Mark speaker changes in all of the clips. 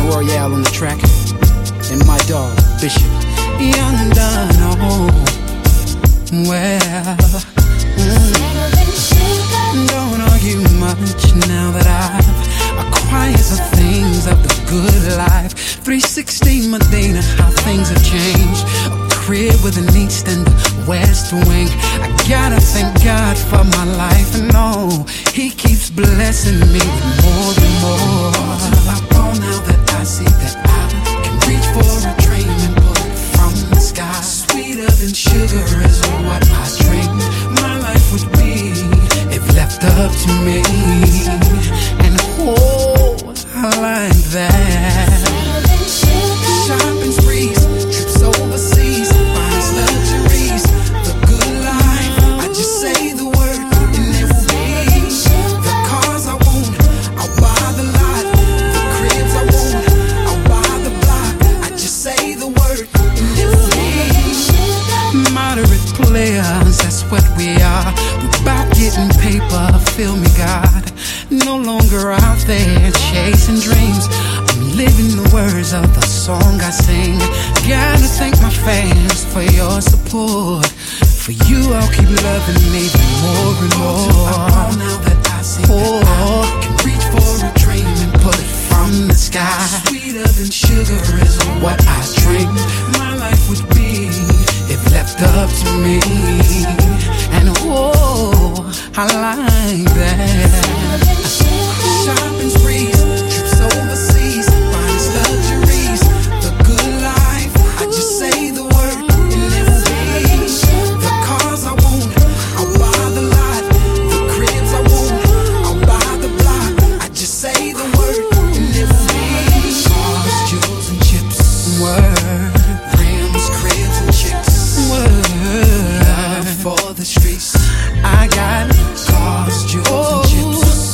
Speaker 1: Royale on the track, and my dog, Bishop. Young done, oh, well, don't argue much now that I've acquired the things of the good life. 360 Medina, how things have changed. A crib with an east and a west wing. I gotta thank God for my life, and no, He keeps blessing me with more and more. Now that I see that I can reach for a dream and pull it from the sky. Sweeter than sugar is what I dream my life would be if left up to me. And oh, I like that. Shopping sprees, trips overseas, finest luxuries, the good life. I just say the word and it will be. The cars I want, I'll buy the lot. The cribs I want, I'll buy the block. I just say the word and it will be. Moderate players, that's what we are. We're about getting paper, feel me, God. No longer out there chasing dreams. I'm living the words of the song I sing. Gotta thank my fans for your support. For you, I'll keep loving even more and more. Now that I see that I can reach for a dream and pull it from the sky. Sweeter than sugar is what I dream my life would be if left up to me. And oh, I like that. Shopping sprees, trips overseas, finest luxuries, the good life. I just say the word and it will be. The cars I want, I'll buy the lot. The cribs I want, I'll buy the block. I just say the word and it will be. Cars, jewels and chips, word. Rims, cribs and chicks, word. Love for the streets, I got cars, jewels and chips.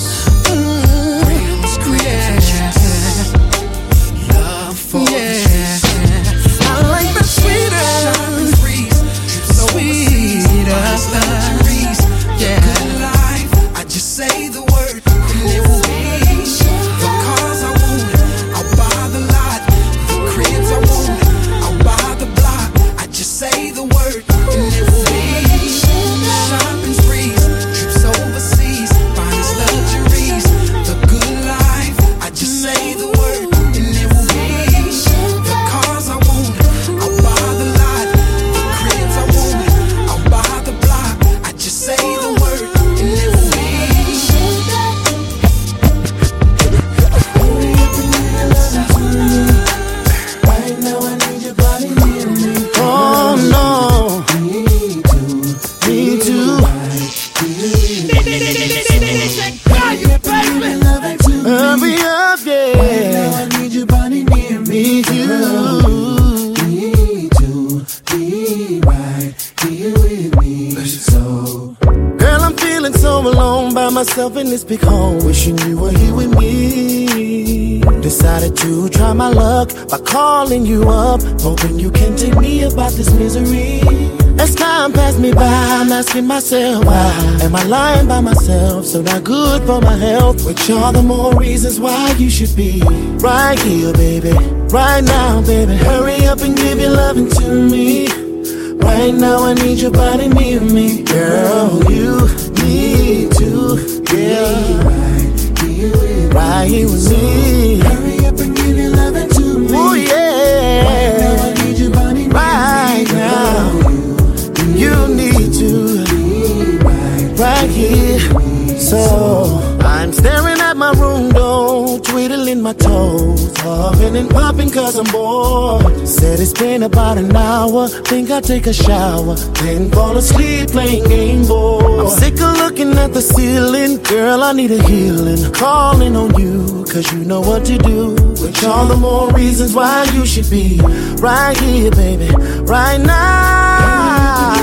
Speaker 2: In this big home, wishing you were here with me. Decided to try my luck by calling you up, hoping you can take me about this misery. As time passed me by, I'm asking myself, why am I lying by myself? So not good for my health. Which are the more reasons why you should be right here, baby. Right now, baby. Hurry up and give your loving to me. Right now, I need your body near me, girl. You need to. Yeah, right here with me. Hurry up and give your loving to me. Oh yeah, right now I need your body right now. You need to be right here. So I'm staring at my room door, twiddling my toes, huffing and puffing cause I'm bored. Said it's been about an hour, think I'll take a shower, then fall asleep playing Game Boy. I'm sick of looking at the ceiling, girl, I need a healing. Calling on you, cause you know what to do. Which all the more reasons why you should be right here, baby, right now.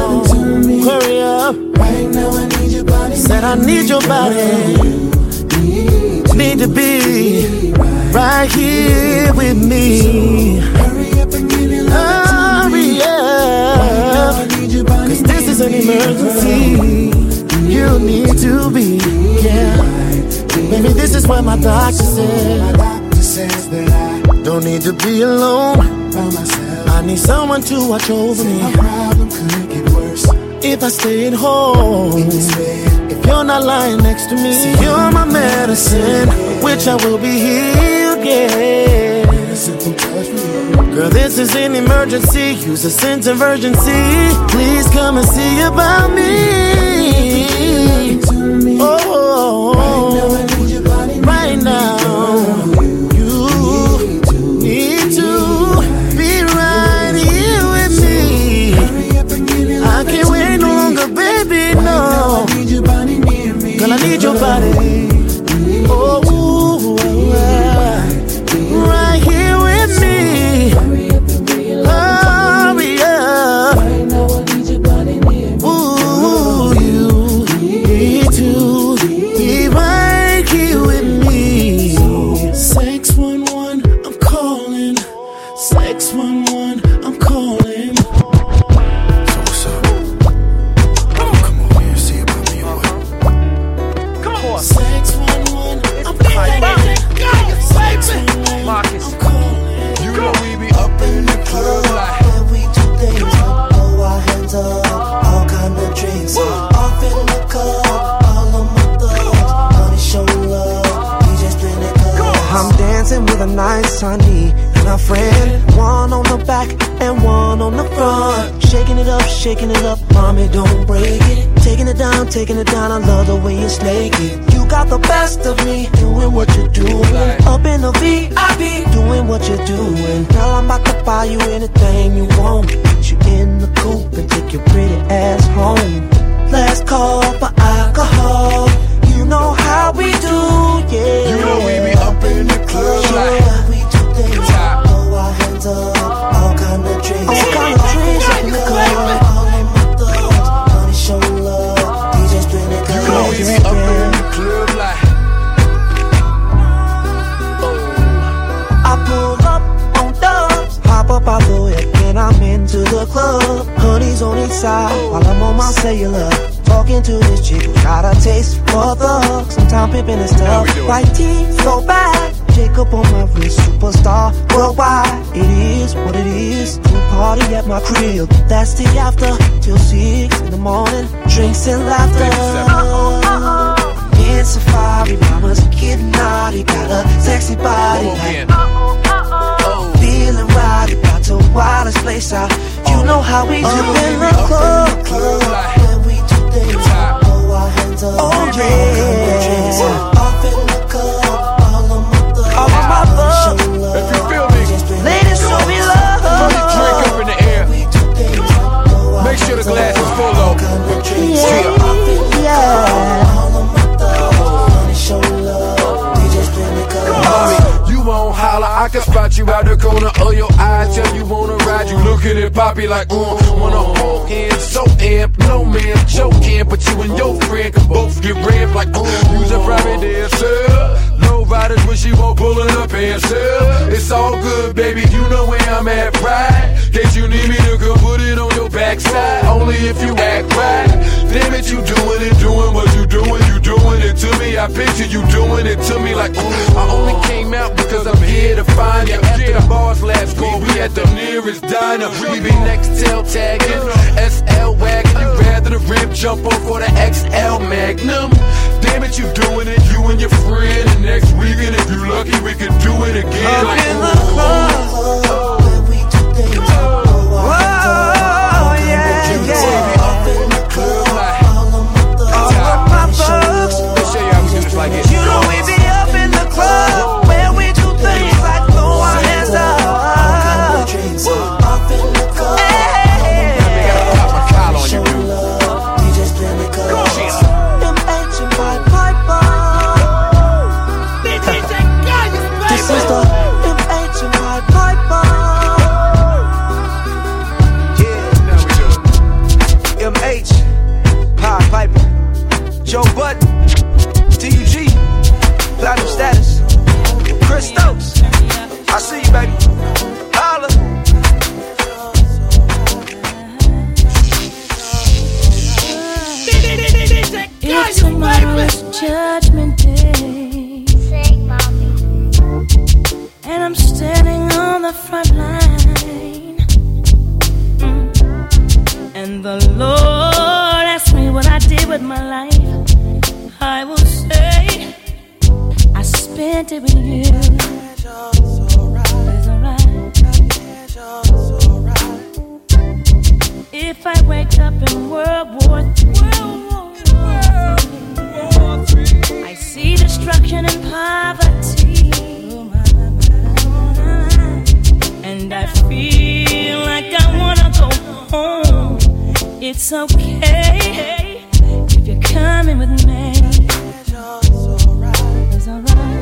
Speaker 2: Hurry up, right now I need your body. Said I need your body. Need to be right here with me. Hurry up and give your love. Hurry up, cause this is an emergency. You need to be, yeah. Maybe this is what my doctor said. sense that I don't need to be alone by myself. I need someone to watch over me. My problem could get worse if I stay at home in this bed. If you're not lying next to me, see, you're my medicine, which I will be healed, yeah. Simple touch from you. Girl, this is an emergency. Use a sense of urgency. Please come and see about me. Oh, right now I need your body. Right now, you need to be right here with me. I can't wait no longer, baby, no. Girl, I need your body. Oh, right here with me. Hurry up. Ooh, you need to be right here with me. 611, I'm calling. 611, I'm calling.
Speaker 3: So what's up? Come over here and see about me or what?
Speaker 4: Come on.
Speaker 2: 611, I'm calling.
Speaker 4: Marcus.
Speaker 2: I'm calling.
Speaker 3: You know we be up in the club like
Speaker 2: We do things, throw our hands up, all kind of drinks. Off in the club, all of my thugs, honey show love, we just been it good.
Speaker 5: I'm dancing with a nice honey and a friend. One on the back and one on the front. Shaking it up, mommy, don't break it. Taking it down, I love the way you snake it. You got the best of me, doing what you're doing. Up in the VIP, doing what you're doing. Girl, I'm about to buy you anything you want. Put you in the coupe and take your pretty ass home. Let's call for alcohol. You know how we do, yeah.
Speaker 3: you know we be up in the club like
Speaker 2: We do things, throw our hands up, all kind of drinks.
Speaker 5: All kind of drinks up in the club.
Speaker 2: All of my thugs, honey show love, DJ's been it good.
Speaker 3: you know we be up in the club like
Speaker 5: I pull up on dubs, hop up out the whip, and I'm into the club. Honey's on each side while I'm on my cellular. Talking to this chick who got a taste for thugs. Sometimes pimping and stuff. White teeth, so bad. Jacob on my wrist, superstar worldwide. It is what it is. Pool party at my crib. That's the after till 6 in the morning. Drinks and laughter. In Safari, mama's getting naughty. Got a sexy body. Feeling right, about to wild this place out. You know how we do in the club.
Speaker 2: We do things, throw our hands up,
Speaker 5: Oh yeah.
Speaker 2: off in the club, all of my thugs,
Speaker 5: All of my thugs.
Speaker 2: show love,
Speaker 3: if you feel me,
Speaker 5: Ladies, show me
Speaker 3: throw your drink
Speaker 5: love.
Speaker 3: up in the air.
Speaker 2: we do things, throw our
Speaker 3: Make sure the
Speaker 2: hands
Speaker 3: glass
Speaker 2: up,
Speaker 3: is full though.
Speaker 2: all kind of drinks.
Speaker 5: Yeah, yeah.
Speaker 2: All of my thugs, honey show love, we just been it good.
Speaker 3: Mommy, you won't holler, I can spot you out the corner of your eye. Tell you wanna ride, you looking at Poppy like, wanna hold hands, so amp, no man joking, but you and your friend can both get ramp like, use a private dancer. No riders when she won't pulling up and sell. It's all good, baby, you know where I'm at, right? Case you need me to come put it on your backside, only if you act right. Damn it, you doing it, doing what you doing it to me. I picture you doing it to me like, I only came out because I'm here to find you. After the bars last week, we at the nearest diner. We be next tail tagging, SL wagon. You rather the rim jump on for the XL Magnum. Damn it, you doing it, you and your friend. And next weekend, if you lucky, we can do it again.
Speaker 5: Up
Speaker 3: Like,
Speaker 5: in the club.
Speaker 2: We do things, throw our hands up,
Speaker 5: Oh yeah, yeah.
Speaker 2: off in the club,
Speaker 3: like,
Speaker 2: all of my thugs,
Speaker 5: All of my thugs.
Speaker 3: let me show you how we do this like it.
Speaker 5: You know we be up in the club where we do things like throw our hands up.
Speaker 2: drinks, off in the club,
Speaker 5: Hey.
Speaker 3: Gotta pop my collar on you, dude.
Speaker 2: we just been it good.
Speaker 5: MH and my Piper. This is the MH and my Piper.
Speaker 6: front line. And the Lord asked me what I did with my life. I will say I spent it with you. It's alright. If I wake up in World War III, I see destruction and poverty, and I feel like I wanna go home. It's okay if you're coming with me. It's alright. It's alright.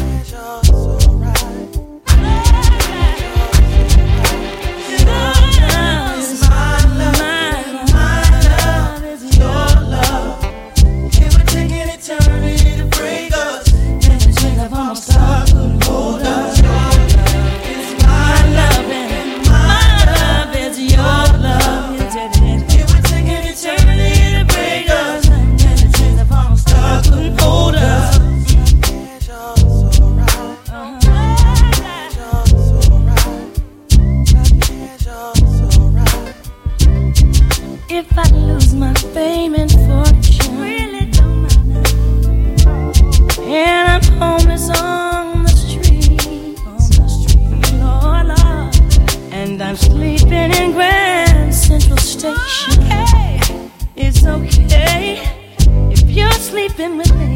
Speaker 6: If I lose my fame and fortune, really don't matter, and I'm homeless on the street, Lord, Lord, and I'm sleeping in Grand Central Station, it's okay if you're sleeping with me.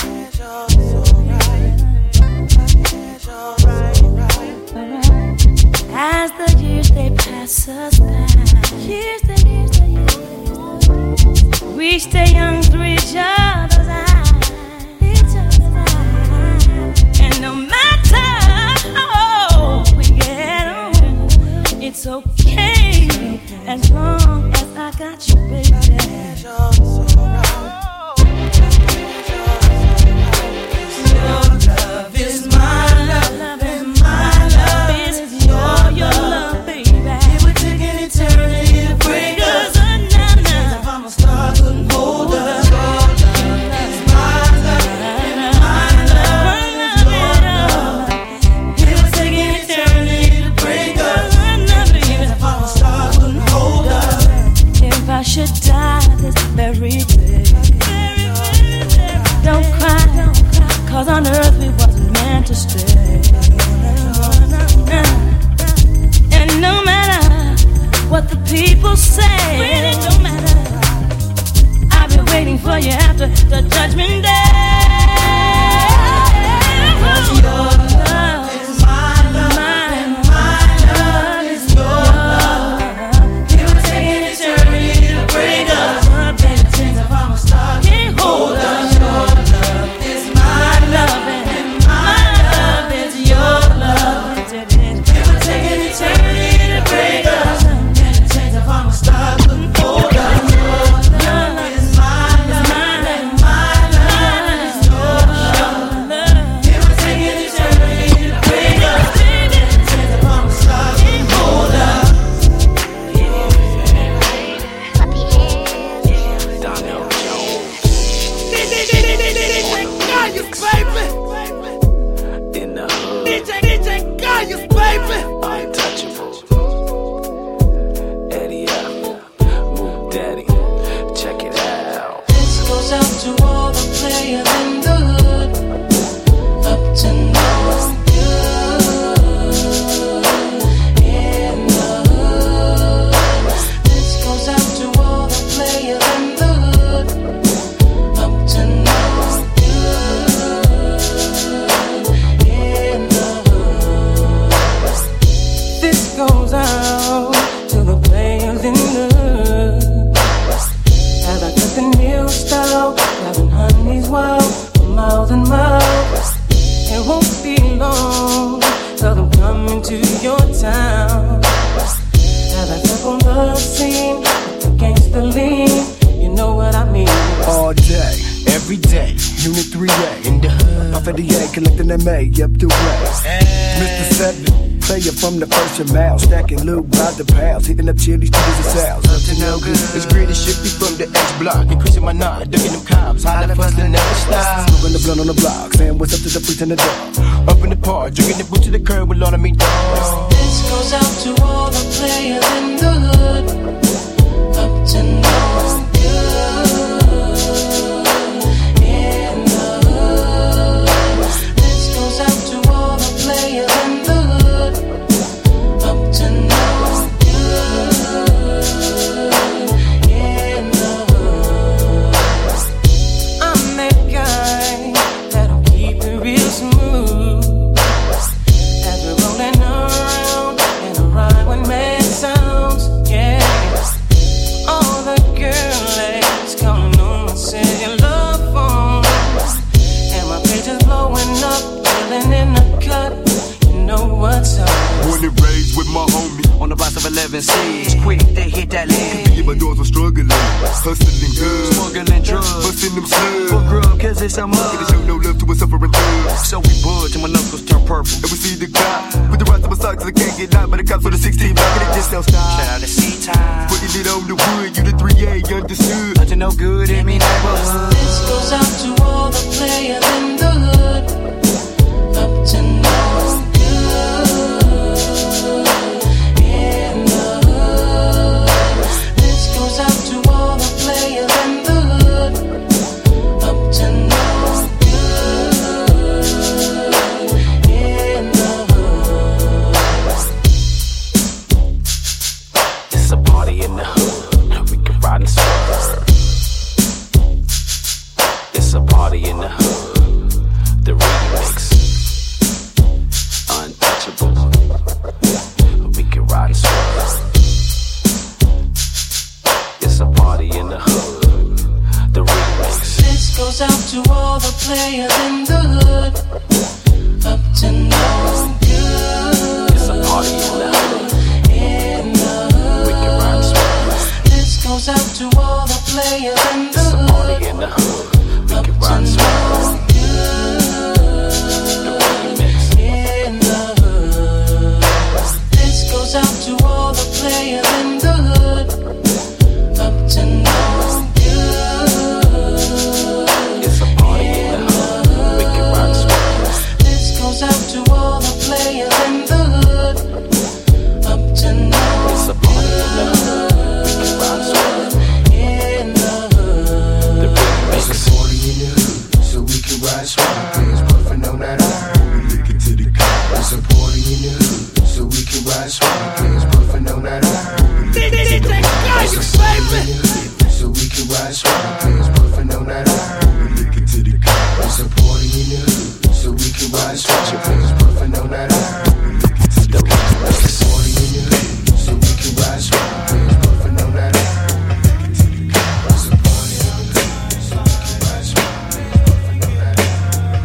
Speaker 6: As the years they pass us by, we stay young through each other's eyes. And no matter how we get on, it's okay as long as I got you, baby. Your love is my love, and my love is your love, baby. It would take an eternity to break us. I should die this very day. Don't cry, cause on earth we wasn't meant to stay. And no matter what the people say, really don't matter, I've been waiting for you after the judgment day. Cause your love is my love, and my love is your love. It would take an eternity to break us. Can't hold us. Your love is my love, and my love is your love. It would take an eternity to break us. Can't change if I'm a star, couldn't hold us. Your love is my love, and my love is your love. It would take an eternity to break us. Can't change if I'm a star, couldn't hold us.
Speaker 7: In the hood,
Speaker 3: DJ Gaius, baby.
Speaker 7: untouchable. Eddie up, Move Daddy, check it out.
Speaker 8: This goes out to all the players in the hood, up to no good in the hood. This goes out to all the players in the hood, up to no good in the hood. This goes out to the players in the hood. As I took the new style, having honey's wild for miles and miles. It won't be long till I'm coming to your town. As I step on the scene with the gangster lean, you know what I mean.
Speaker 9: All day, every day, Unit 3A in the hood. Off of the A, collecting MA up the way. Mr. 7, player from the first and mile, stacking loot by the pounds, hitting up chilies, cheese and sales.
Speaker 7: Up to no good. It's greedy shit be from the X block, increasing my knowledge, ducking them cops, hollering for the never stop.
Speaker 9: Smoking the blunt on the block, saying what's up to the freak in the door.
Speaker 7: Up in the park, drinking the boot to the curb with all of me dogs.
Speaker 8: This goes out to all the players in the hood, up to no good in the hood. This goes out to all the players in the hood, up to no good in the hood. I'm that guy that'll keep it real smooth as we're rolling around in a ride with mad sounds. Yeah, all the girls calling on my cellular phone, and my page is blowing up, feeling in the cut. You know what's up.
Speaker 3: Born and raised with my homie
Speaker 7: On the blocks of 11 C's, quick they hit that lead.
Speaker 3: yeah, my doors were struggling, hustling good,
Speaker 7: Smuggling drugs,
Speaker 3: busting them slugs.
Speaker 7: for grub, cause it's a
Speaker 3: Gonna
Speaker 7: mug.
Speaker 3: show no love to a suffering thug.
Speaker 7: So we budge and my knuckles turn purple.
Speaker 3: And we see the cop with the rest of my socks, I can't get out, but the cops for the 16 block, and it just don't stop.
Speaker 7: Shout out to C-Time,
Speaker 3: Putting it on the wood, you the 3A, understood.
Speaker 7: up to no good in me neighborhood.
Speaker 8: This goes out to all the players in the hood, up to no good in the hood. This goes out to all the players in the hood, up to no good in the hood.
Speaker 7: It's a party in the hood, we can ride and swerve. It's a party in the hood, the remix, untouchable. We can ride and swerve. It's a party in the hood, the remix.
Speaker 8: This goes out to all the players in the hood, up to no good
Speaker 7: It's a party in the hood,
Speaker 8: in the hood.
Speaker 7: we can ride and swerve.
Speaker 8: This goes out to all the players in the
Speaker 7: It's a party
Speaker 8: hood,
Speaker 7: in the hood, we
Speaker 8: up
Speaker 7: can
Speaker 8: to
Speaker 7: ride and swerve.
Speaker 8: no good
Speaker 7: The remix.
Speaker 8: in the hood. This goes out to all the players in the hood, up to no good
Speaker 7: It's a party in the hood, we can ride and swerve.
Speaker 8: This goes out to all the players in the hood, up to no
Speaker 7: It's a party in the hood, we can ride and swerve.
Speaker 8: in the hood.
Speaker 7: The remix.
Speaker 9: Party in the hood, so we can ride swag. Players puffin' on that iron. Lick it to the cup. It's a party in the hood, so we can ride swag. Players puffin' on that iron. So we can ride swag. Players puffin' on that iron. Lick it to the cup. It's a party in the hood, so we can ride swag. Players puffin' on that iron. Lick it to the cup. It's a party in the hood, so we can ride swag. Players puffin' on that iron. Lick it to the cup. It's a party in the hood, so we can ride swag. Players puffin' on that iron.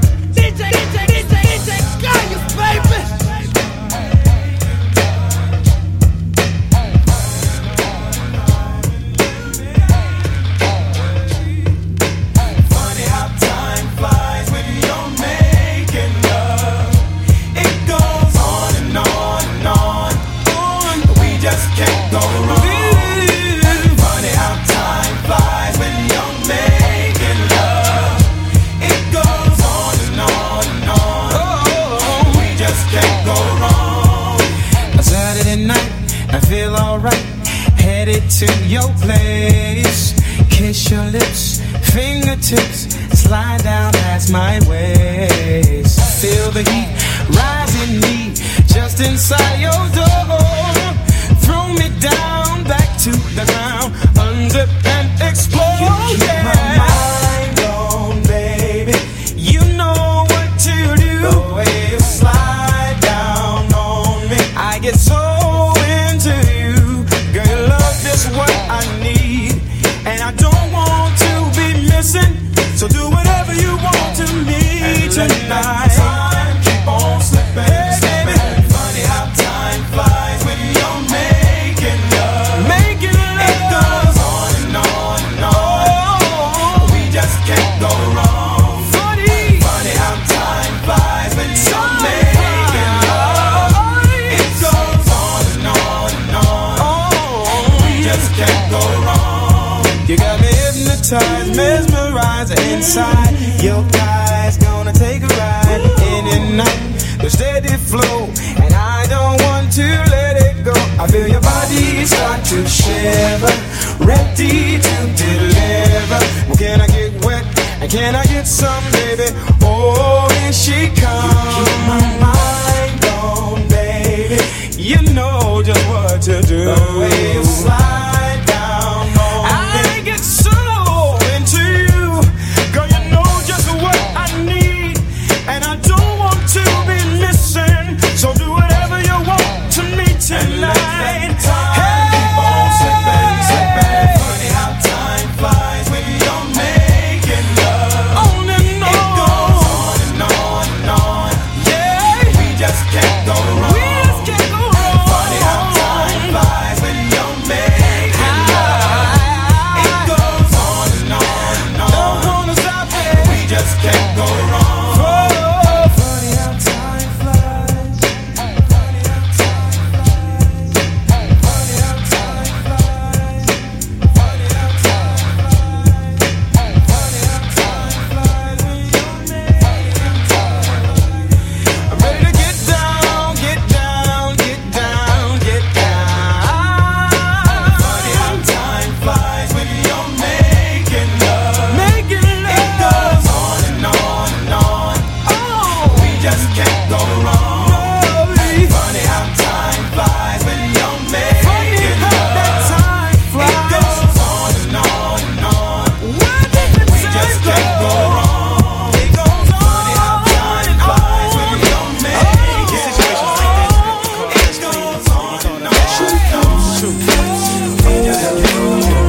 Speaker 10: Funny how time flies when you're making love. It goes on and on and on. We just can't go wrong. Funny how time flies when you're making love. It goes on and on and on. We just can't go wrong.
Speaker 1: A Saturday night, I feel alright. Headed to your place. Kiss your lips, fingertips slide down past my waist. Feel the heat rise in me just inside your door. Throw me down, back to the ground, unzip and explode.
Speaker 10: You keep my mind on, baby.
Speaker 1: You know what to do.
Speaker 10: The way you slide down on me.
Speaker 1: I get so into you. Girl, your love is what I need, and I don't want to be missing. So do whatever you want to me tonight.
Speaker 10: Time keep on slipping, slipping. Funny how time flies when you're making love.
Speaker 1: Making love.
Speaker 10: It goes on and on and on. We just can't go wrong.
Speaker 1: Funny.
Speaker 10: Funny how time flies when you're making love. It goes on and on and on. We just can't go wrong.
Speaker 1: You got me hypnotized, mesmerized inside. Your eyes gonna take a ride in and night, the steady flow, and I don't want
Speaker 10: to let it go. I feel your body start to shiver, ready to deliver. Well, can I get wet? And can I get some, baby? Oh, here she comes. You keep my mind on, baby. You know just what to do. The way you slide down on me, I get so into you. Girl, you know just what I need, and I don't want to be missing. So do whatever you want to me tonight. Hey, keep on slipping, slipping. Funny how time flies when you're making love. On and on. It goes on and on and on. Yeah, we just can't go wrong. We just can't go wrong. Funny how time flies when you're making love. It goes on and on and on. Don't wanna stop it. We just can't go wrong. Funny how time flies. Funny how time flies. Funny how time flies. Funny how time flies. Funny how time flies when you're making love. I'm ready to get down, get down, get down, get down. Funny how time flies when you're making love. Making love. It goes on and on and on. Oh, we just can't go wrong. Funny how time flies when you're making love. It goes on and on and on. We just can't go wrong. It goes on. Funny how time flies when you're making love. It goes on and on and on. We just can't go wrong.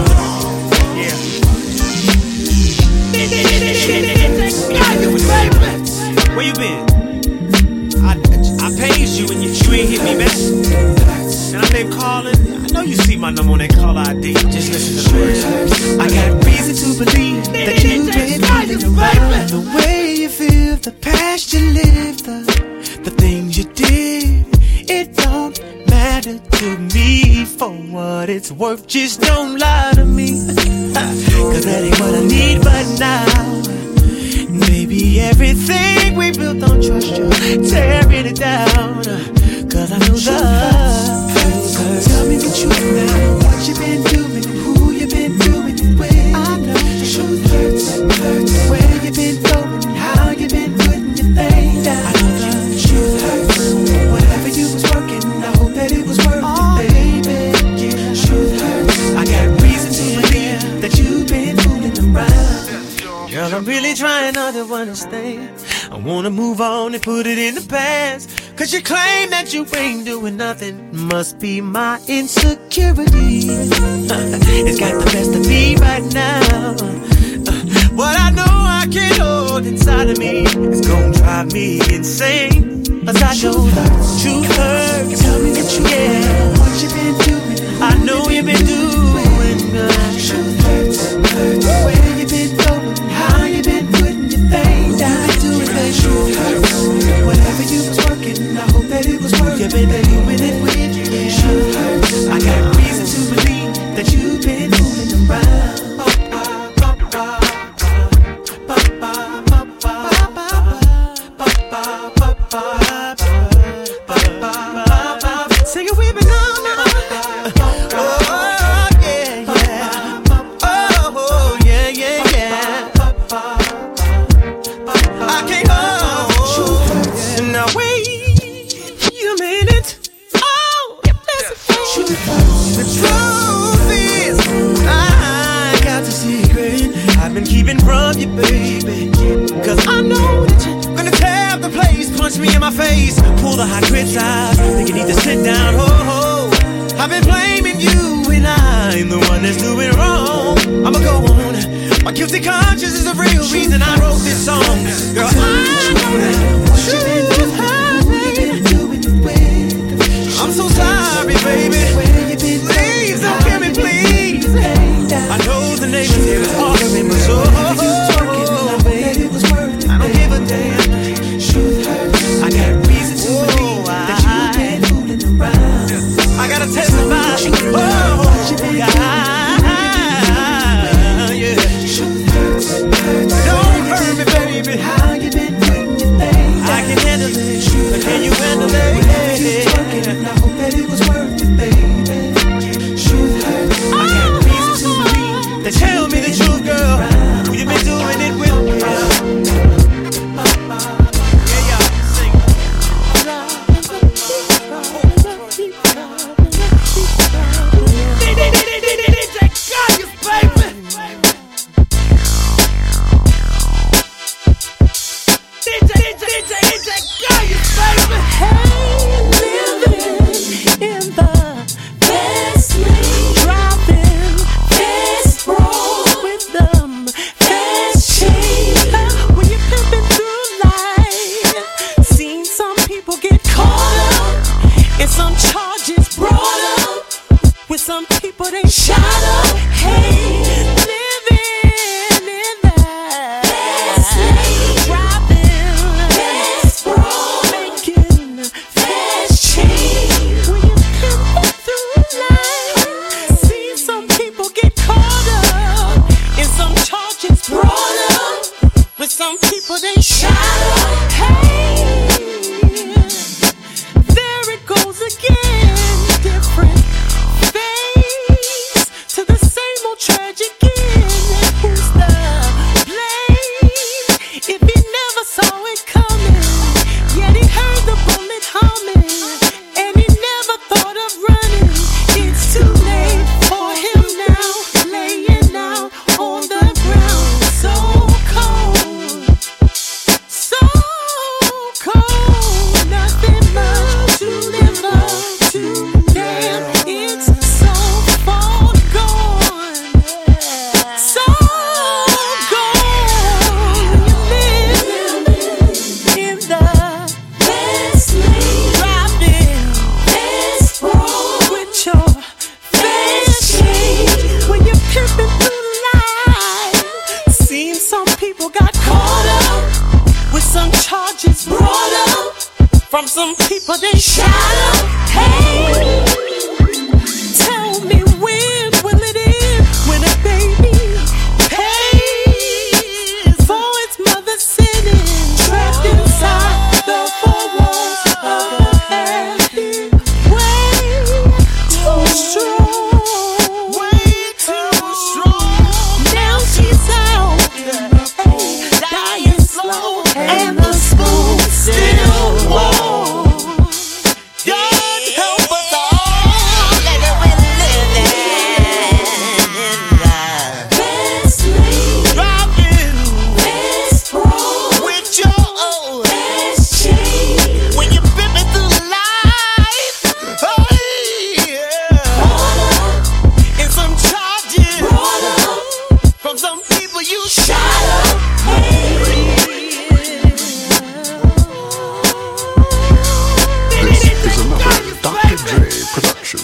Speaker 11: Where you been? I paged you and you ain't hit me back. And I've been calling. I know you see my number on that call ID. Just listen to the words. I got reason to believe that you've been feeling around.
Speaker 5: The way you feel, the past you lived, the things you did, it don't matter to me for what it's worth. Just don't lie to me, cause that ain't what I need right now. Maybe everything we built on trust, you tearing it down, cause I know love. Tell me the truth now, what you been doing, who you been doing it with. I know the truth hurts, where you been going, how you been putting your thing down. I know the truth hurts, whatever you was working, I hope that it was worth it, baby. Yeah, truth hurts, I got reason to believe that you've been fooling around. Girl, I'm really trying not to understand. I wanna move on and put it in the past, cause you claim that you ain't doing nothing. Must be my insecurity. It's got the best of me right now. What I know I can't hold inside of me is gonna drive me insane. Cause I know truth hurts. Tell me that you yeah. What you been doing? I know you've been doing good. Truth hurts, where you been going? How you been putting your thing down? Do it, baby. Truth hurts, whatever you was working, I hope that it was worth it. You been doing it with you. Truth hurts, I got reason to believe that you've been fooling around. Sing it with me now. Oh, yeah, yeah. Oh, yeah, yeah, yeah. I can't hold. Now wait a minute. Oh, listen. The truth is, I got the secret I've been keeping from you, baby. Cause I know that you're gonna tear the place, punch me in my face, pull the hot grits out. Think you need to sit down, ho ho. I've been blaming you and I'm the one that's doing wrong. I'ma go on. My guilty conscience is the real reason I wrote this song. Girl, I know that truth hurts, baby. I'm so sorry, baby. Please don't kill me, please. I know the neighbors here is arguing, but so I don't give a damn. I got reason to believe that you've been fooling around. I gotta testify. Oh, yeah. Don't hurt me, baby. How you been putting your thing
Speaker 10: that it was worth it, baby. Truth hurts.
Speaker 11: I got reason to believe that. Tell me the truth, girl. Who you been doing it with? Yeah, y'all sing. DJ Gaius, baby. DJ Gaius, baby.
Speaker 6: Hey, living in the fast lane, driving fast road with them fast chains. When you're pimping through life, seen some people get caught up and some charges brought up. With some people they shot up. Hey, living in that fast lane, driving fast road, making fast change. When you pimping through life, see some people get caught up and some charges brought up. With some people they shot up. Hey, there it goes again, different face to the same old tragic end. Who's the blame if he never saw it coming? Yet he heard the bullet humming and he never thought of running. It's too late for him now, laying out on the ground, so cold, so cold, nothing much to live up to. Damn, it's so far gone, so gone. You live in the fast lane, driving fast road with your fast change. When you're pimping through life, seems some people got caught up with some charges brought up from some people they shot up. Hey, tell me when will it end? When a baby pays for its mother's sinning, trapped inside the four walls of a happy way too strong, way too strong. Now she's out, dying slow, and the spoon still warm. God help us all, let it be living in the fast lane, driving fast road with your old fast chain. When you're pimping through life, oh yeah, and some charges brought up from some people you shot up.
Speaker 12: This is another Dr. Dre production.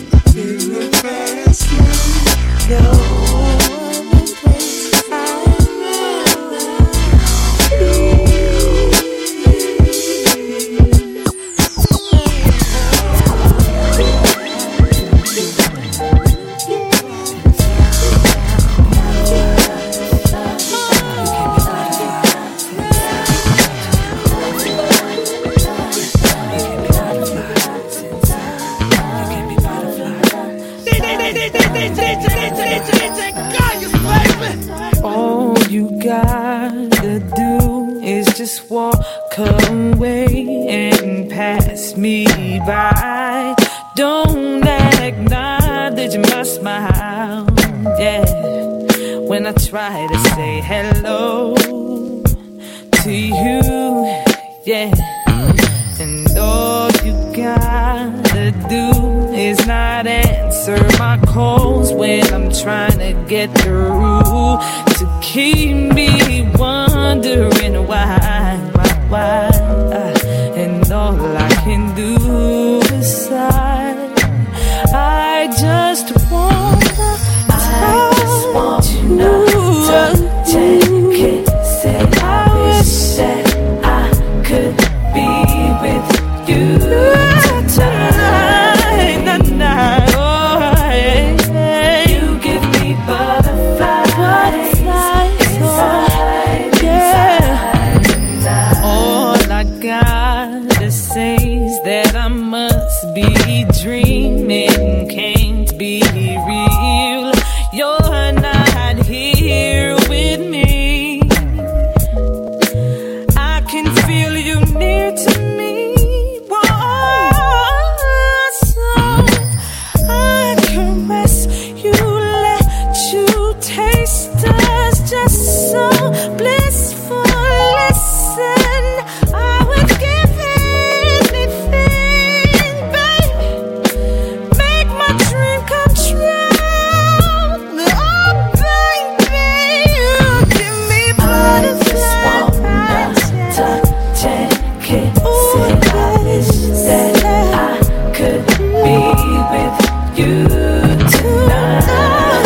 Speaker 6: All you gotta do is just walk away and pass me by. Don't acknowledge my smile, yeah, when I try to say hello to you, yeah. And all you gotta do is not answer my calls when I'm trying to get through, to keep me wondering why. And all I can do is sigh. I just wanna touch you, take it, say I wish that I could be with you tonight. Oh, yeah. You give me butterflies inside, yeah. All I gotta say is that I'm must be dreaming, can't be real. You're not here with me. I can feel you near to me. Whoa, so I caress you, let you taste us, just so blissful. Listen, I would give anything, babe. Make my dream come true. Oh, baby, you give me butterflies. Touch and kiss it. I wish that I could be with you tonight.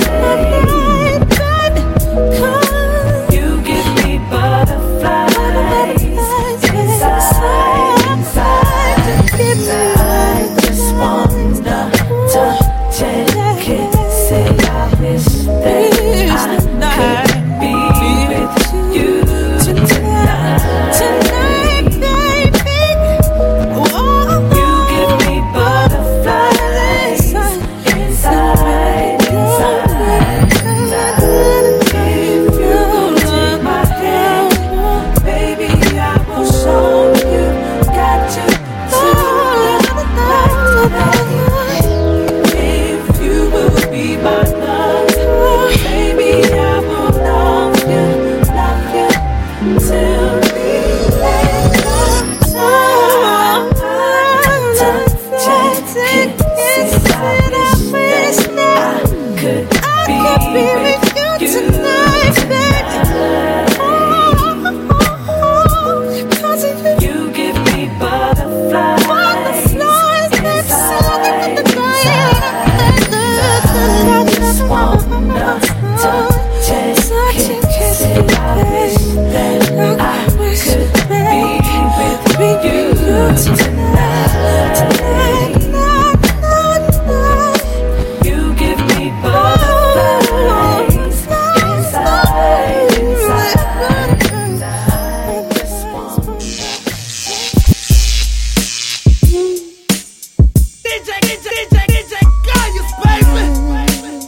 Speaker 6: You give me butterflies inside. I just wanna touch and kiss it. I wish that I could be with you tonight. Tonight, baby. You give me butterflies inside. If you gon' take my hand, baby, I will show you. Got you tonight. If you will be my love, baby, I will love you till we let go. Touch and kiss, I wish that I could be with you tonight, baby. You give me butterflies inside. I just wanna touch and kiss it. I wish that I could be with you tonight. You give me butterflies inside. I just want DJ Gaius, baby.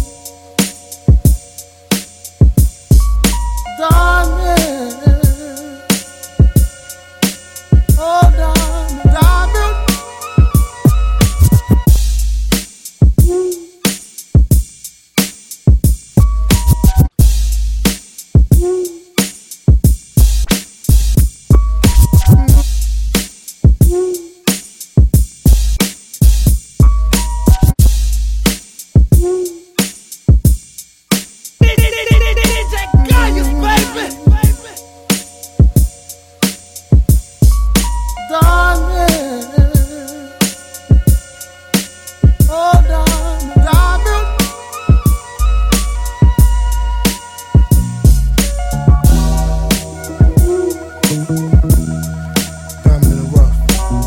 Speaker 2: Darling, oh darling,
Speaker 11: DJ Gaius, baby.
Speaker 2: darling, oh darling. Diamond in the rough.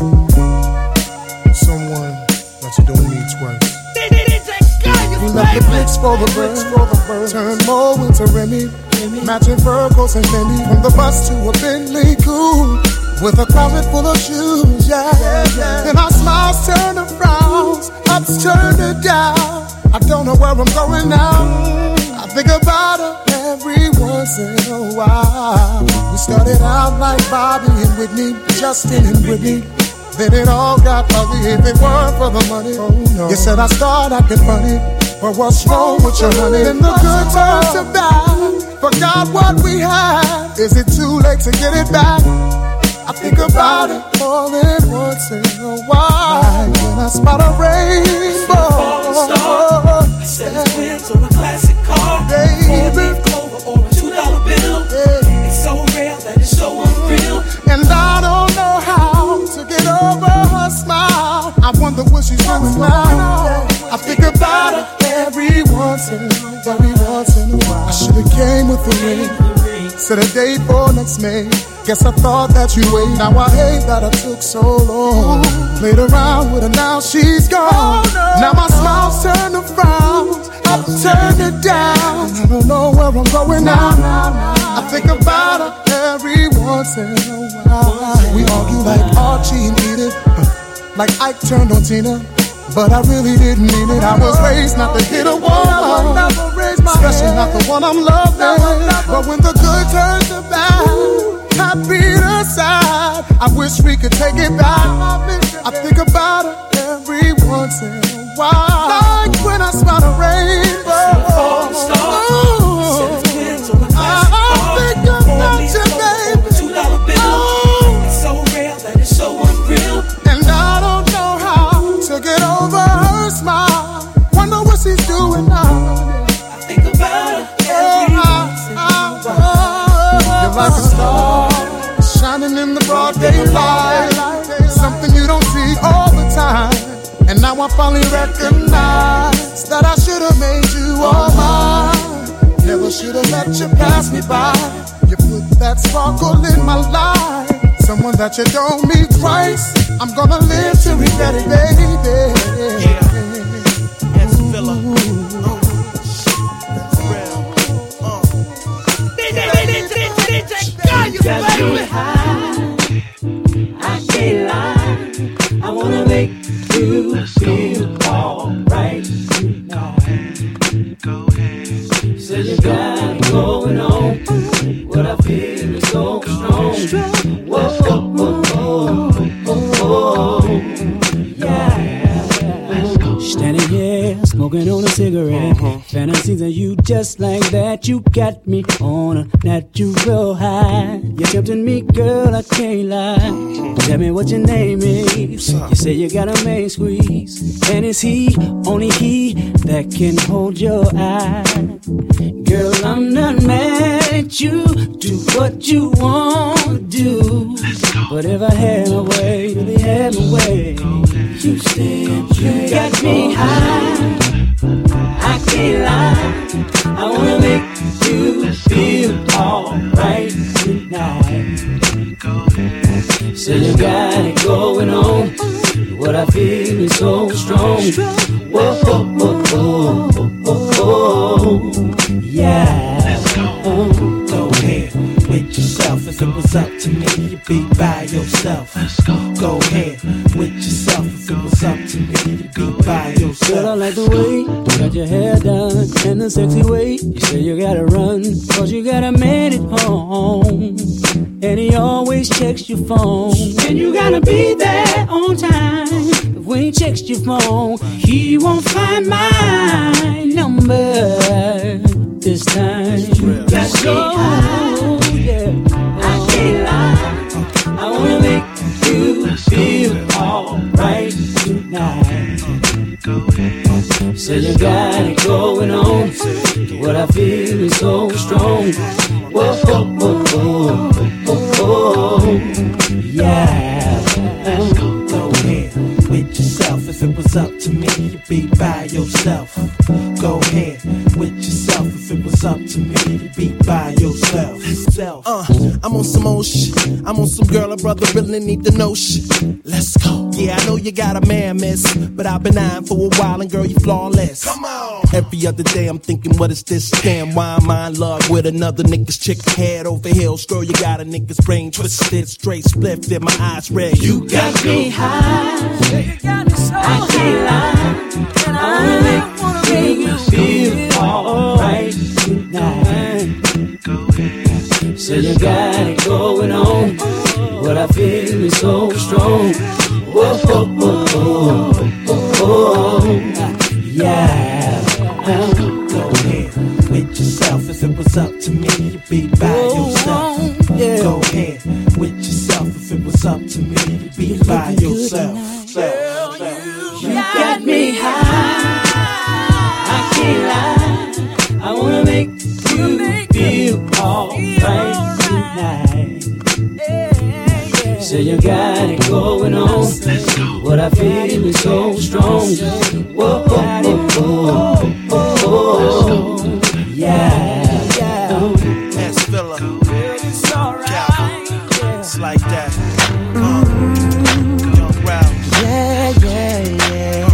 Speaker 2: Someone that you don't need twice. We left the bricks for the birds, turn more into Remy, matching Virgos and Fendi. From the bus to a Bentley coupe, with a closet full of shoes, yeah. Then our smiles turn to frowns, ups turn to down. I don't know where I'm going now. I think about her every once in a while. We started out like Bobby and Whitney, Justin and Whitney. Then it all got ugly if it weren't for the money. Oh, no. You said I started acting funny, but what's wrong with your honey? Then the good turned to bad, forgot what we had. Is it too late to get it back? I think about it more than once in a while. When I spot a rainbow,
Speaker 10: I said it's wins on a classic car,
Speaker 2: baby,
Speaker 10: Clover or a $2 bill. It's so rare that it's so unreal.
Speaker 2: and I don't know how to get over her smile. I wonder what she's doing now. I think about her every once in a while. I should've came with the ring, set a date for next May. Guess I thought that you'd wait. Now I hate that I took so long. Played around with her, now she's gone. Now my smile's turned to frowns, up turned it down. I don't know where I'm going now. I think about her every once in a while. We argue like Archie and Edith.
Speaker 13: like Ike turned on Tina. But I really didn't mean it. I was raised not to hit a woman, especially not the one I'm loving. But when the good turns to bad, I beat aside. I wish we could take it back. I think about her every once in a while, like when I spot a rainbow. I think about you, baby. $2 bill, it's so real that it's so unreal. And I don't know how to get over her smile. Wonder what she's doing now. I think about her every once in a while. You're like a star shining in the broad daylight, something you don't see all the time. And now I finally recognize that I should have made you all mine. Never should have let you pass me by. You put that sparkle in my life. Someone that you don't meet twice. I'm gonna live to regret it, baby. Yeah. As Villa.
Speaker 6: You got me high, I can't lie. I wanna make you feel alright tonight. Go ahead. So you got it going on. What I feel is so strong. Whoa, whoa, whoa, whoa, whoa. Yeah. Standing here, smoking on a cigarette. Fantasies of you just like that. You got me on a natural high. You're tempting me, girl, I can't lie. Tell me what your name is. You say you got a main squeeze. And it's he, only he, that can hold your eye. Girl, I'm not mad at you. Do what you want to do. But if I had my way, really had my way. You said you got me high. I can't lie. I wanna make you feel alright tonight. So you got it going on. What I feel is so strong. Whoa, whoa, whoa, whoa, whoa, whoa. Yeah. Go ahead with yourself. If it was up to me, you'd be by yourself. Go ahead with yourself. If it was up to me, you'd be by yourself. Girl, I like the way you got your hair done and the sexy way you say you gotta run, cause you got a man at home. And he always checks your phone. And you gotta be there on time. If when he checks your phone, he won't find my number this time. That's so yeah. I can't lie. I wanna make you feel alright tonight. So you got it going on. What I feel is so strong. Whoa, whoa, whoa, whoa, whoa. Yeah. Go ahead with yourself. If it was up to me, you'd be by yourself. Go ahead with yourself. If it was up to me, you'd be by yourself.
Speaker 14: I'm on some old shit. I'm on some girl or brother really need to know shit. Let's go. Yeah, I know you got a man, miss, but I've been eyeing for a while and girl, you flawless. Come on. Every other day I'm thinking, what is this? Damn, why am I in love with another nigga's chick? Head over heels, girl, you got a nigga's brain twisted, straight split, fit my eyes red. You got me high. I can't lie. And I wanna make you feel alright tonight. So you got it going on. What I feel is so strong. Whoa, whoa, whoa, whoa, whoa. Yeah. Go ahead with yourself. If it was up to me, you'd be by yourself. Yeah. Go ahead with yourself. If it was up to me, you'd be by yourself. You got me high. I can't lie. I wanna make you feel alright tonight. So you got it going on. What I feel is so strong. Whoa, whoa, whoa, whoa, whoa. Yeah. That's Villa. It's alright. It's like that. Young Ralph. Yeah, yeah, yeah.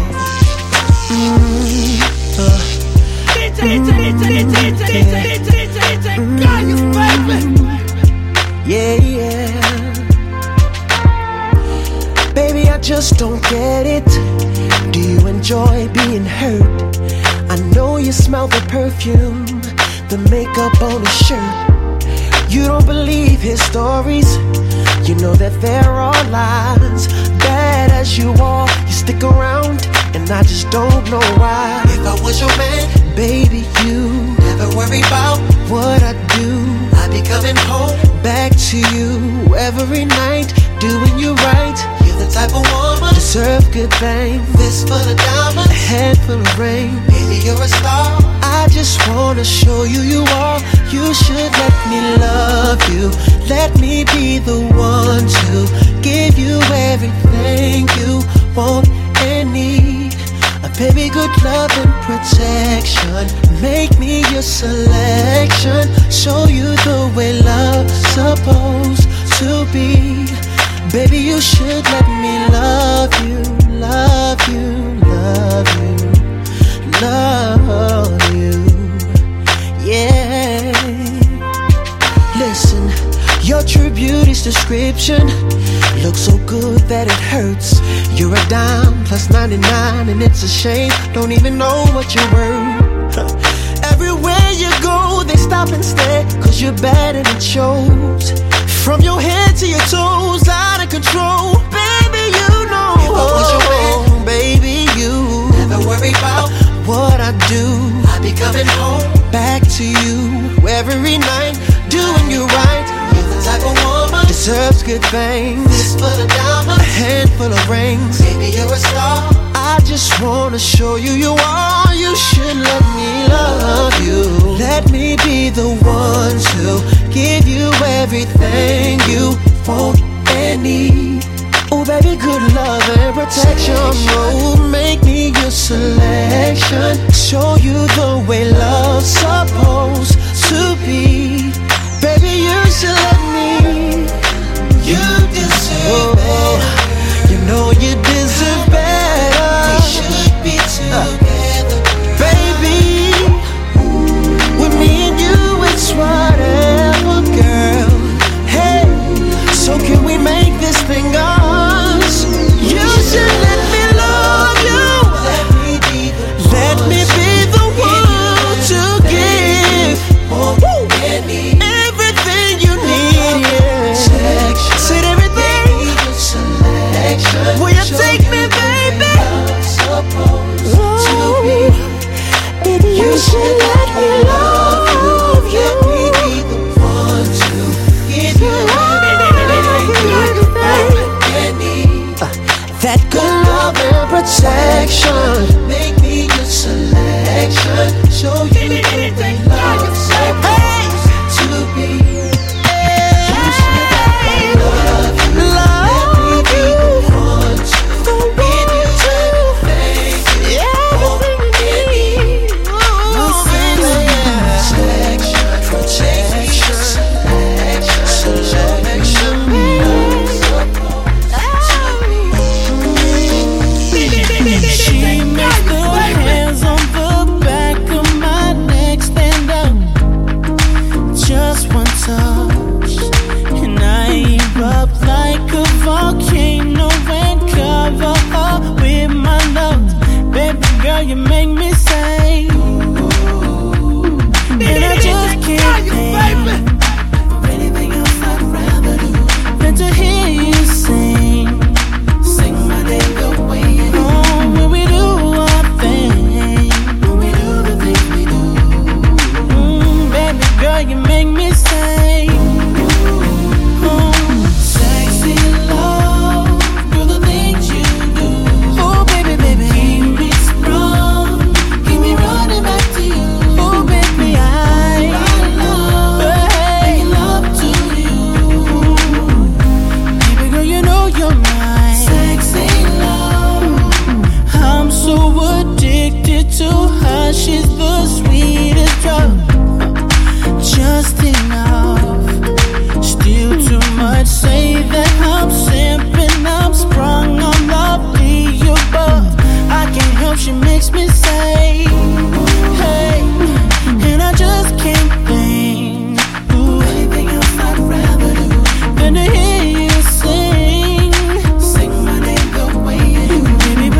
Speaker 14: Yeah, yeah. Baby, I just don't care
Speaker 5: it? Do you enjoy being hurt? I know you smell the perfume, the makeup on his shirt. You don't believe his stories, you know that there are lies. Bad as you are, you stick around, and I just don't know why. If I was your man, baby, you never worry about what I do. I be coming home back to you every night, doing you right. You're the type of woman deserve good things. Fist full of diamonds, a head full of rain. Baby, you're a star. I just wanna show you you are. You should let me love you. Let me be the one to give you everything you want and need. A baby, good love and protection. Make me your selection. Show you the way love's supposed to be. Baby, you should let me love you, love you, love you, love you. Yeah. Listen, your true beauty's description looks so good that it hurts. You're a dime plus 99, and it's a shame, don't even know what you're worth. Everywhere you go, they stop and stare, cause you're bad and it shows. From your head to your toes, out of control. Baby, you know. If I was your man, baby, you never worry about what I do. I be coming home back to you every night, doing you right. You're the type of woman deserves good things. Fist full of diamonds, a handful of rings. Baby, you're a star. I just wanna show you you are. You should let me love you. Let me be the one to give you everything you want and need. Oh baby, good love and protection. Oh, make me your selection. Show you the way love's supposed to be. Baby, you should let me. You deserve better. You know you deserve better. We should be together, baby. With me and you, it's whatever, girl. Hey, so can we make this thing us? You should let me love you. Let me be the one to give everything you need. Yeah. Said everything. Will you take me, baby? Oh, baby, you should let me love you. Let me be the one to give you everything. That good love and protection. Make me your selection. Show you the way love's supposed to be. You should let me love you. Let me be the one to give you everything you want and need. Selection, protection, selection.
Speaker 6: She makes the hands on the back of my neck stand up. Just one touch, and I erupt like a volcano and cover up with my love. Baby girl, you make me say, and I just can't think of anything else I'd rather do than to hear you sing my name the way you do. When we do our thing, when we do the things we do. Baby girl, you make me say, sexy love, girl, the things you do. Oh baby, baby, keep me strong, keep me running back to you. Oh baby, I love to you. Baby girl, you know you're mine. Sexy love, I'm so addicted to her. She's the sweetest drug. Just enough, still too much. Say that I'm simping, I'm sprung on lovely above. I can't help, she makes me say, hey, and I just can't think anything else I'd rather do than to hear you sing my name the way you do. Baby,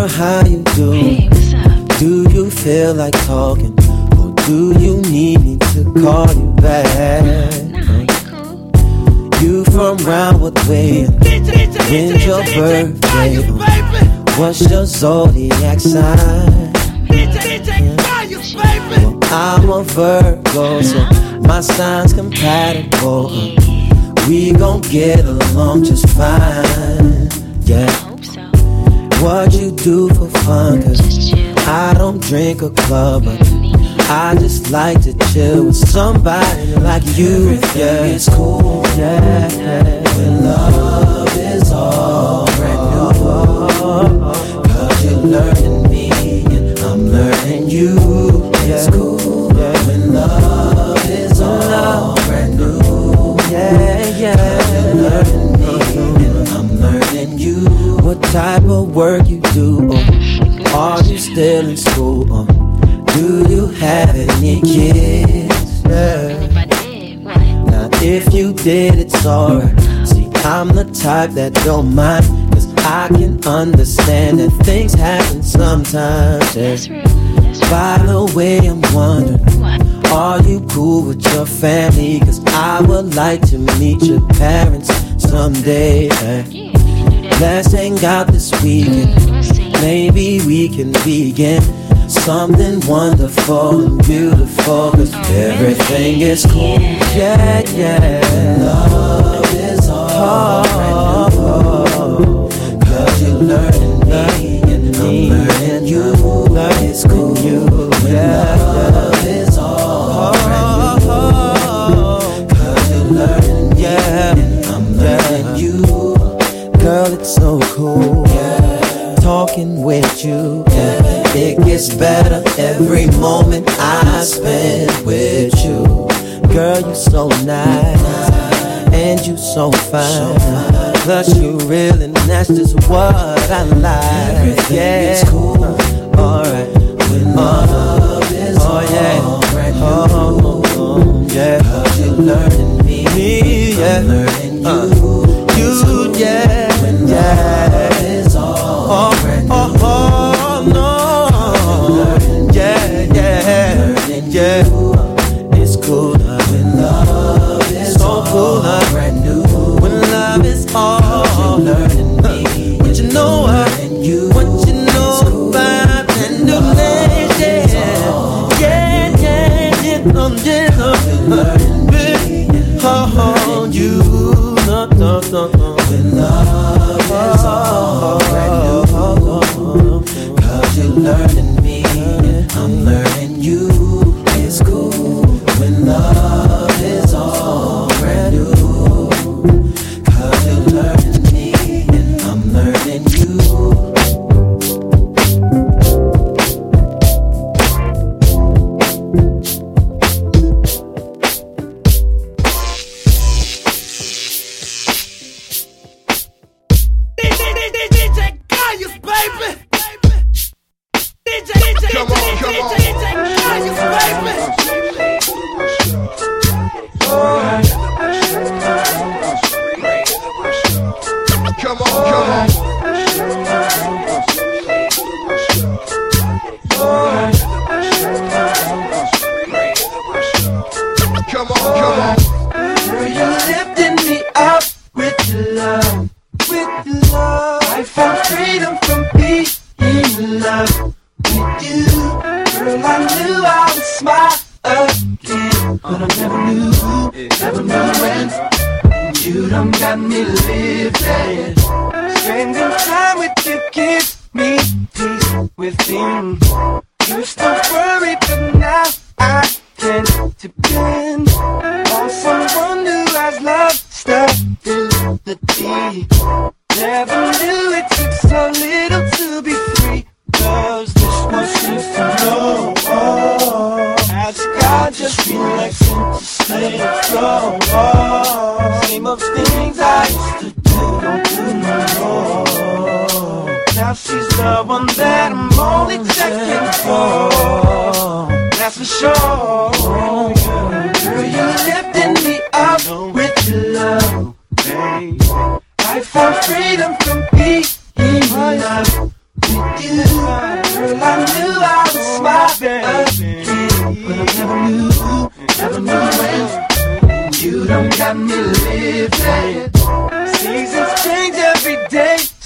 Speaker 5: how you do? Hey, what's up? Do you feel like talking? Or do you need me to call you back? Nah, you cool. You from Roundwood Way? When's your birthday? What's your zodiac sign? Well, I'm a Virgo, so my sign's compatible. We gon' get along just fine, yeah. What you do for fun, cause I don't drink or club, but I just like to chill with somebody like you. Yeah, it's cool, yeah, when love is all brand new. Cause you're learning me and I'm learning you. Yeah, it's cool, when love is all brand new. Yeah, cause you're learning me and I'm learning you. What type of work you do? Are you still in school? Do you have any kids? Yeah. Now if you did, it's alright. See, I'm the type that don't mind, cause I can understand that things happen sometimes, yeah. By the way, I'm wondering, are you cool with your family? Cause I would like to meet your parents someday, yeah. Let's hang out this weekend. Maybe we can begin something wonderful and beautiful. Cause everything is cool. Yeah, yeah. Love is all. Cause you're learning me and I'm learning you. Love is cool. Yeah. Love is all. Cause you're learning me and I'm learning you. Girl, it's so cool, yeah. Talking with you, yeah. It gets better every moment I spend with you. Girl, you so nice, and you so fine. Plus you real and that's just what I like. Everything is cool, alright. When love is all brand new, yeah. Cause you're learning me, yeah. I'm learning you, yeah. Yeah, it's all brand new. Oh, no. Yeah. It's cool when love is so cool, brand new. When love is all learning me. What you know about brand new days, yeah. Oh, you, no. When love is all brand new. Cause you're learning me and I'm learning you. It's cool when love is all brand new. Cause you're learning me and I'm learning you.
Speaker 10: I found freedom from being in love with you.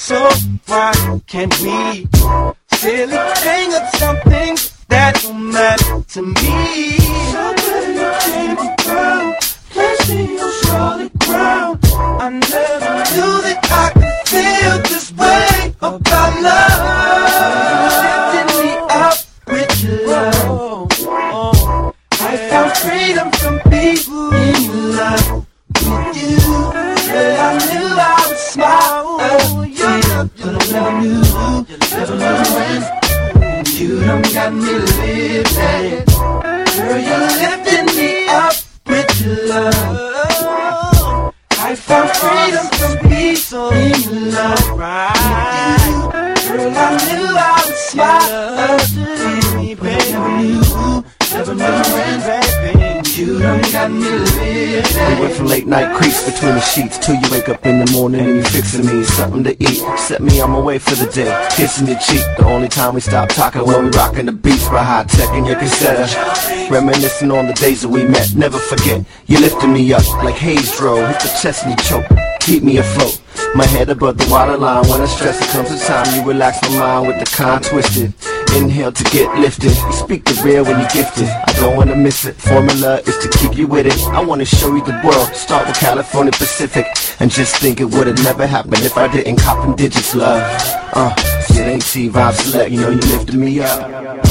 Speaker 15: So why can't we silly hang up something that don't matter to me? Something came around, placing on solid ground. I never knew that I could feel this way about love. Lifting me up with your love. I found freedom from being in love with you. Yeah, I knew I would smile at you, but I never knew when you done got me lifted. Girl, you're lifting me up with your love. I found freedom from being in love with you. Girl, I knew I would smile at you, baby. Never knew when, baby, you done got me lifted.
Speaker 7: We went from late night creeps between the sheets till you wake up in the morning and you fixing me something to eat. Set me on my way for the day, kissing your cheek. The only time we stop talking when we rocking the beats by high tech and your cassette. Reminiscing on the days that we met, never forget. You lifting me up like haze drove, hit the chest and you choke, keep me afloat. My head above the waterline. When I stress it comes to time, you relax my mind with the con twisted. Inhale to get lifted. You speak the real when you gifted. I don't wanna miss it. Formula is to keep you with it. I wanna show you the world. Start with California Pacific. And just think it would've never happened if I didn't cop in digits, love. See, it ain't T-Vibe Select. You know you lifted me up.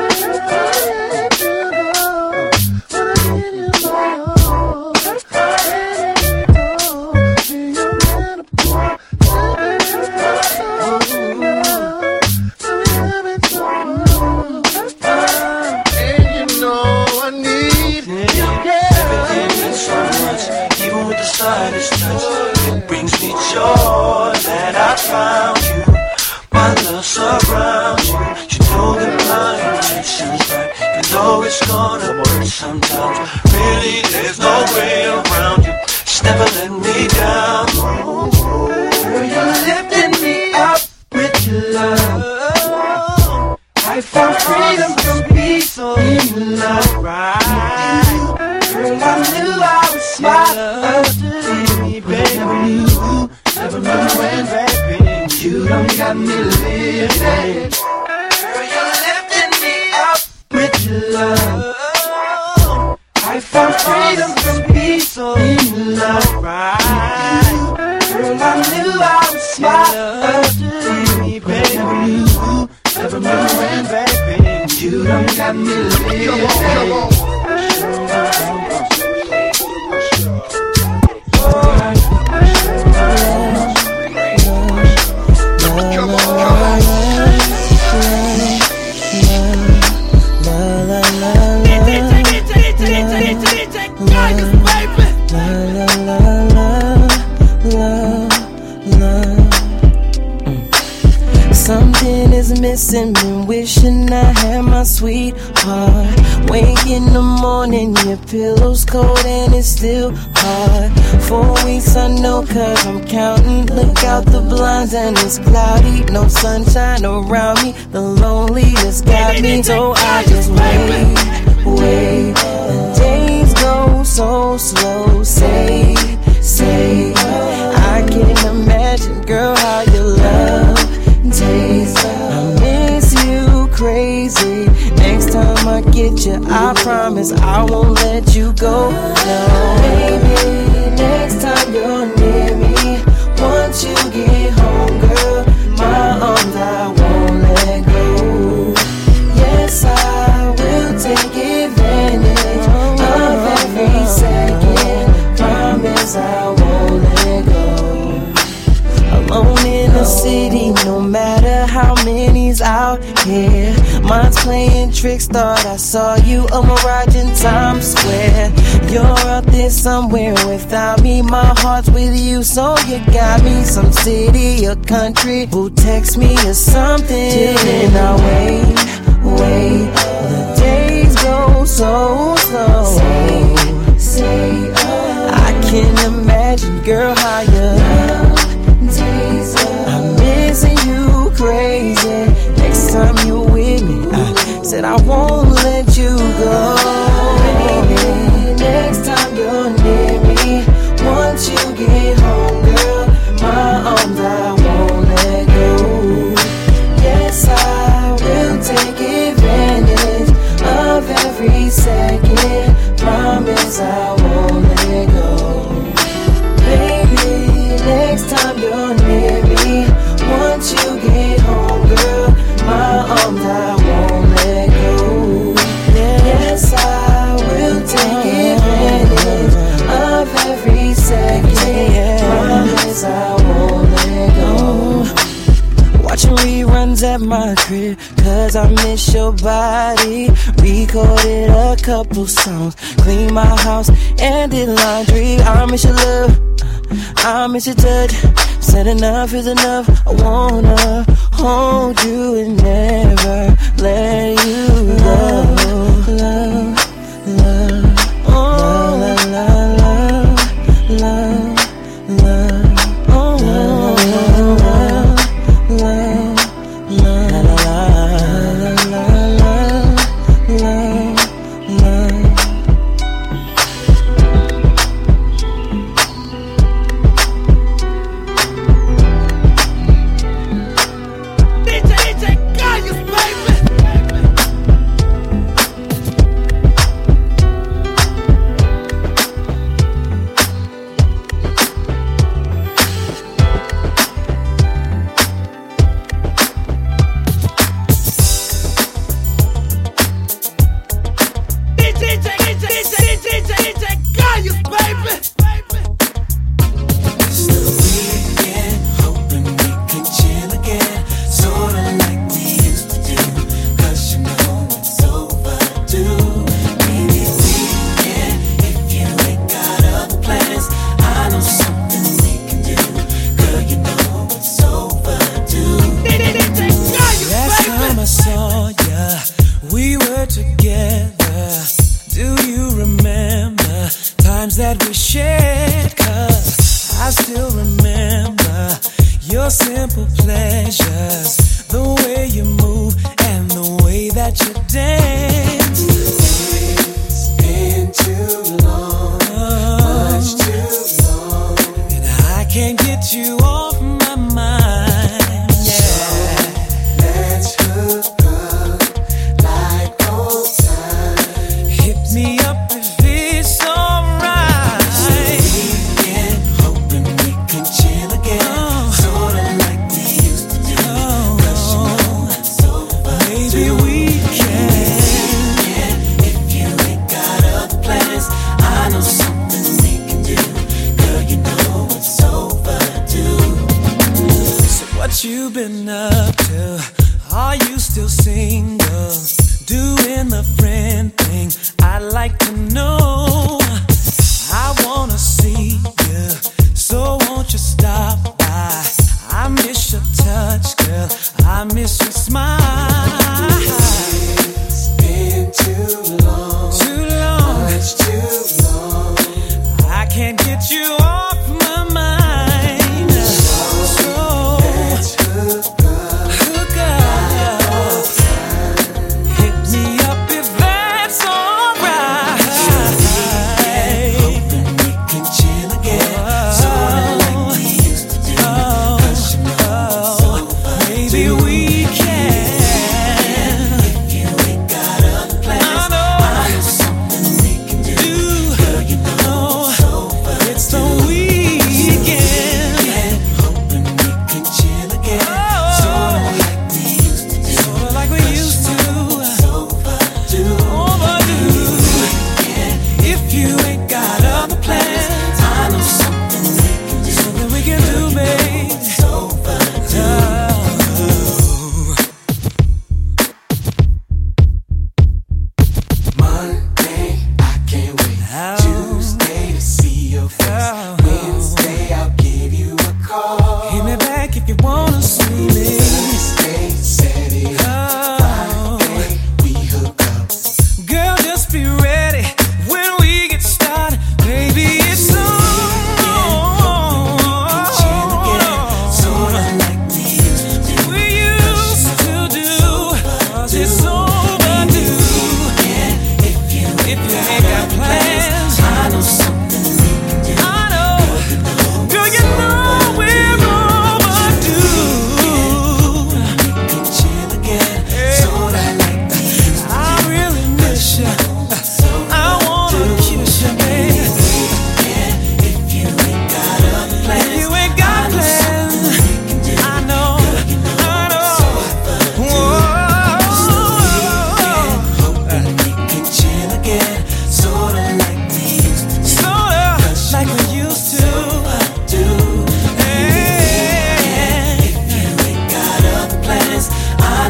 Speaker 15: It brings me joy that I found you. My love surrounds you. You know that my intention's right. You know it's gonna work sometimes. Really, there's no way around you. Just never let me down. Girl, you're lifting me up with your love. I found freedom from peace in love. Girl, I knew I would smile after me, baby. Never knew when, baby, you done got me lifted. Girl, you're lifting me up with your love. I found freedom from peace in love. Girl, I knew I would smile after me, baby. Never knew when, baby, you done got me lifted.
Speaker 5: Something is missing, been wishing I had my sweetheart. Wake in the morning, your pillow's cold and it's still hard. 4 weeks I know cause I'm counting. Look out the blinds and it's cloudy. No sunshine around me, the loneliness got me. So I just wait. The days go so slow. Say, I can't imagine, girl, how you love taste. I miss you crazy. Next time I get you, I promise I won't let you go. No, baby, next time you're near me, once you get home, girl, my arms I won't let go. Yes, I will take advantage of every second. Promise I won't let go. Alone in the city, no matter how many's out here. Mine's playing tricks, thought I saw you, a mirage in Times Square. You're out there somewhere without me, my heart's with you, so you got me. Some city or country, who text me or something. Till then I wait, the days go so slow. Say, I can't imagine, girl, how you love. I'm missing you crazy. Next time you're with me, I said I won't let you go. Baby, next time you're near me, once you get home, girl, my arms I won't let promise I won't let go. Baby, next time you're near me, once you get home, girl, my arms I won't let go. Yes, I will take advantage of every second. Promise I won't let go. Watching reruns at my crib, cause I miss your body. Recorded a couple songs, clean my house and did laundry. I miss your love, I miss your touch. Said enough is enough. I wanna hold you and never let you go. Love, love, oh, love, love, love, love, love, oh, love, love, love, love, love, love, love, love.
Speaker 16: we can.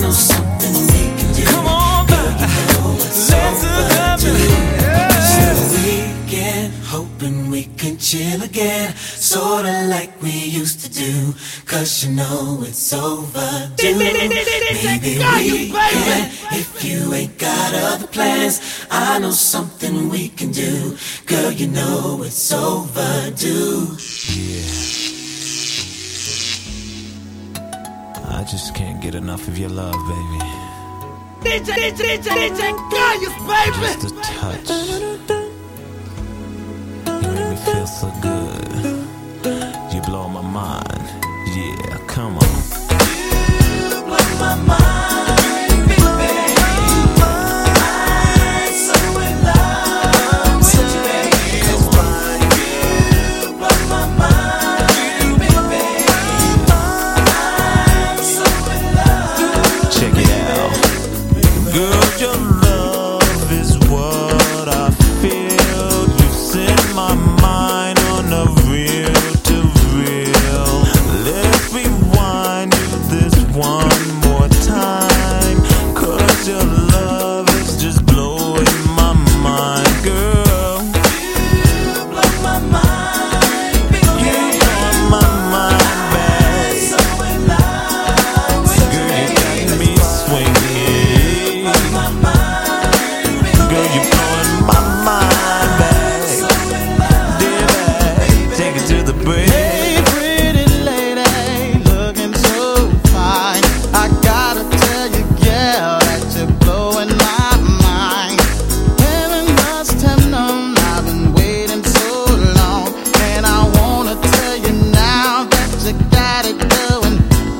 Speaker 8: know something we can do.
Speaker 10: Come on, girl, let's love it.
Speaker 8: So weekend, hoping we can chill again, sorta like we used to do. 'Cause you know it's overdue. Maybe we can, if you ain't got other plans. I know something we can do. Girl, you know it's overdue.
Speaker 11: I just can't get enough of your love, baby.
Speaker 10: DJ Gaius, baby.
Speaker 11: Just a touch. You make me feel so good. You blow my mind. Yeah, come on.
Speaker 8: You blow my mind, baby. I'm so in love with you, baby. That's why you blow my mind, baby. I'm so in love.
Speaker 11: Check it out. Girl, your love is what I feel. You set my mind on a real to real. Let's rewind to this one more time. 'Cause your love is just blowing my mind, girl.
Speaker 8: You blow my mind, baby.
Speaker 11: You blow my mind, babe.
Speaker 8: So in love with you,
Speaker 11: Girl, you
Speaker 8: baby.
Speaker 11: got me swinging.
Speaker 8: My mind, baby.
Speaker 11: Girl, you blowing my mind, babe.
Speaker 8: So in love,
Speaker 11: Baby, take it to the bridge.
Speaker 16: Hey, pretty lady, looking so fine. I gotta tell you, girl, that you're blowing my mind. Heaven must have known I've been waiting so long, and I wanna tell you now that you got it going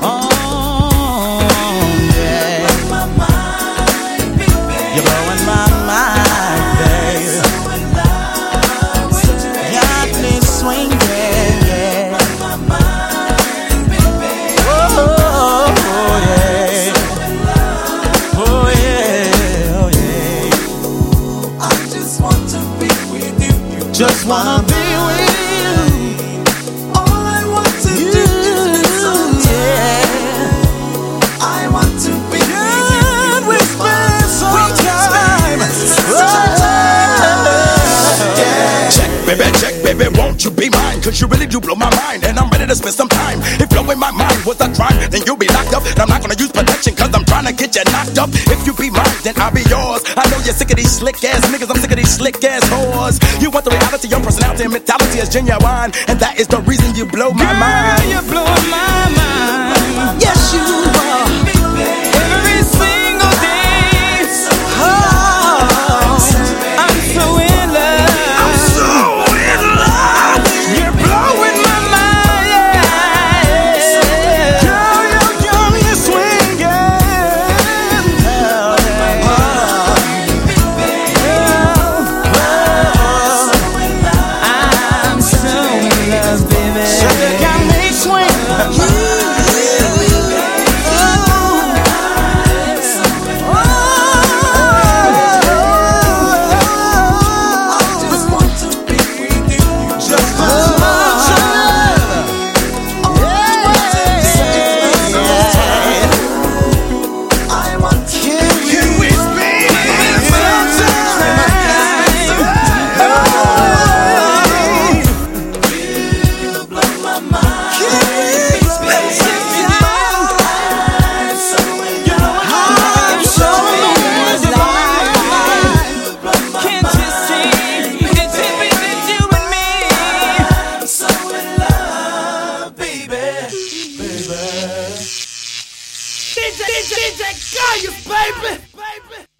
Speaker 16: on, yeah.
Speaker 8: my mind, baby.
Speaker 16: You're blowing my mind, baby.
Speaker 8: So in love with you, baby.
Speaker 16: Got me swinging, yeah.
Speaker 8: My mind, baby.
Speaker 16: Oh, yeah. Oh, yeah. Oh, yeah.
Speaker 8: I just want to be with you.
Speaker 16: Just wanna be with you.
Speaker 8: All I want to do is spend some time. I want to be with you.
Speaker 16: We spend some time.
Speaker 9: Check, baby, won't you be mine? 'Cause you really do blow my mind, and I'm ready to spend some time. If blowing my mind was a crime, then you'll be locked up. And I'm not gonna use protection, 'cause I'm trying to get you knocked up. If you be mine, then I'll be yours. I know you're sick of these slick ass niggas, I'm sick of these slick ass whores. You want the reality, your personality and mentality is genuine, and that is the reason you blow my mind.
Speaker 10: Girl, you're blowing my mind.
Speaker 16: Yes, you are.
Speaker 10: Every single day. Oh, I'm so in love.
Speaker 9: I'm so in love.
Speaker 10: You're blowing my mind. Yeah.
Speaker 16: Girl, you're swinging.
Speaker 10: I'm so in love, baby.
Speaker 16: Sugar got me swinging.
Speaker 10: DJ Gaius, baby.